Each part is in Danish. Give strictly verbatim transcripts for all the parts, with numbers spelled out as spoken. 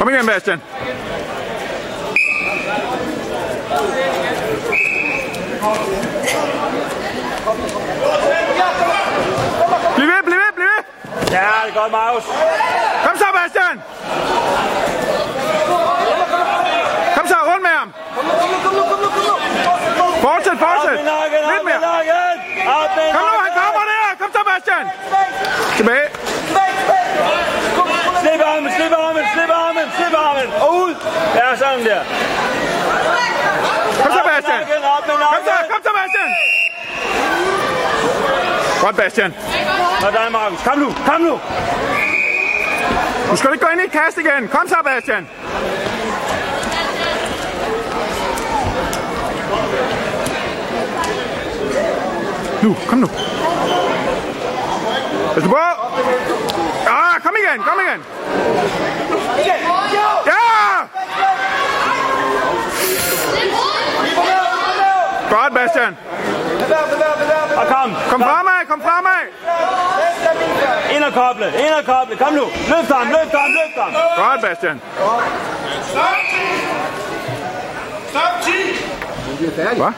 Kom igen, Bastian. Bliv ved, bliv ved, bliv ved. Ja, det er godt, Markus. Kom så, Bastian. Kom så, rundt med ham. Fortsæt, fortsæt. Lidt mere. Kom nu, han kommer der. Kom så, Bastian. Tilbage. Slip armen, slip armen, slip armen, slip armen. Og ud. Ja, sådan der. Kom så, Bastian. Kom så, kom så, Bastian. Godt, Bastian. Og dig, Markus. Kom nu, kom nu. Du skal ikke gå ind i et kast igen. Kom så, Bastian. Nu, kom nu. Pas på. Ah, kom igen, kom igen. Ja! Godt, Bastian. Og kom. Kom fremad, kom fremad. Ind og koble, ind og koble. Kom nu. Løft ham, løft ham, løft ham. Godt, Bastian. Stop! Stop, ti! Hvad?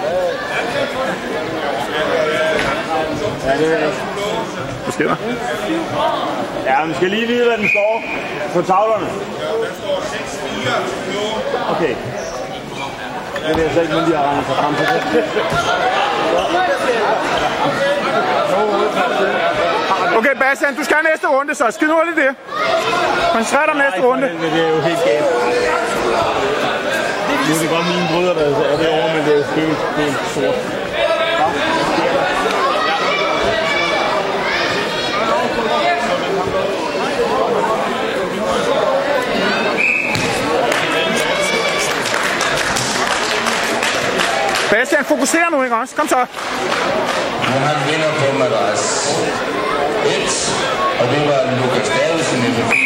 Hvad sker der? Ja, man skal lige vide, hvad den står på tavlerne. Der står seks fire nul. Okay. Det ved jeg så ikke, men de har regnet sig frem til det. Okay, Bastian, du skal have næste runde, så skid hurtigt det. Koncentrer dig om næste runde. Det er jo helt galt. Nu er det godt mine brødre, der er det over, men det er jo helt, helt sort. Bastian, fokuser nu, ikke også? Kom så. Nu han vinder på madras. et, og det var Lukas Davidsen i det.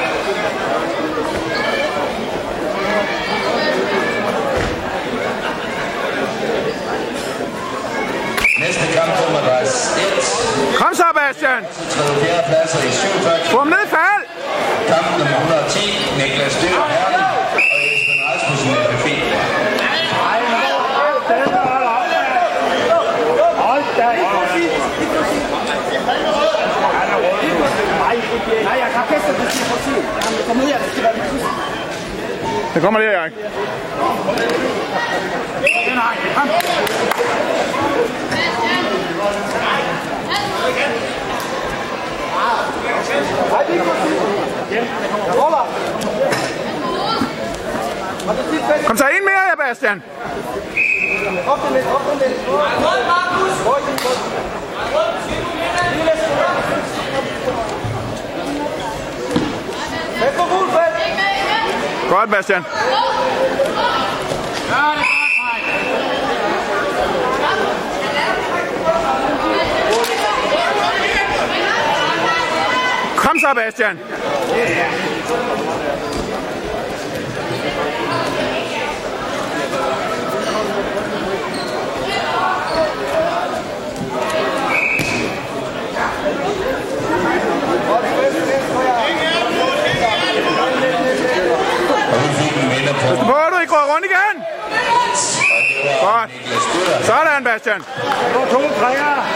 Næste kamp på madras. et. Kom så, Bastian. tredje fjerde pladser i syvogfyrre. Få ham ned i fald. Kamp nummer et hundrede og ti. Niklas Dyr Herning og Esben Rasmussen i F F I. Nej, jeg kan feste det til for tid. Jeg kommer ud af det, skal være det. Det kommer lige, Erik. Nej, kom. Kom så ind mere, ja, Bastian. Op den lidt, op den lidt. Hold, Markus! Hold, Godt, Bastian. Kom så, Bastian. Pas du på, du ikke går rundt igen. Godt. Sådan, Bastian. To træer.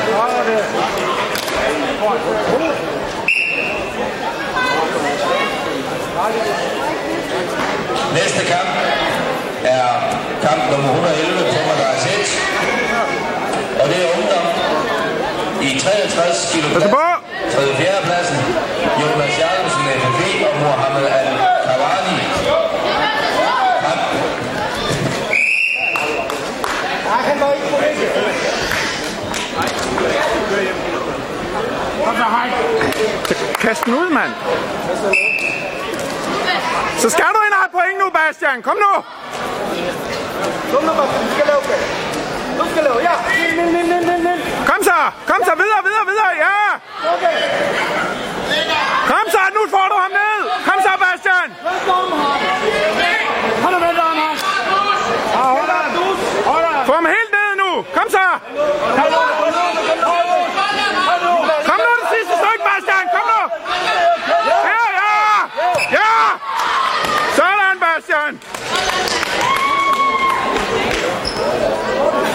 Næste kamp er kamp nummer et hundrede og elleve på madras et. Og det er ungdom i treogtres kilo. Pas du på. tredje fjerde pladsen. Jonas Jacobsen F F I og Mohammed Al-Kawani. Kast den ud, mand. Så skal du ind og have point nu, Bastian. Kom nu. Kom nu, Bastian. Du skal lave det. Du skal lave, ja. Kom så. Kom så. Videre, videre, videre. Ja. Kom så. Nu får du ham ned. Kom så, Bastian. Hold da, vent om ham. Få ham helt ned nu. Kom så. Kom nu, det sidste stykke, Bastian. Kom nu. Ja, ja. Ja. Bastian!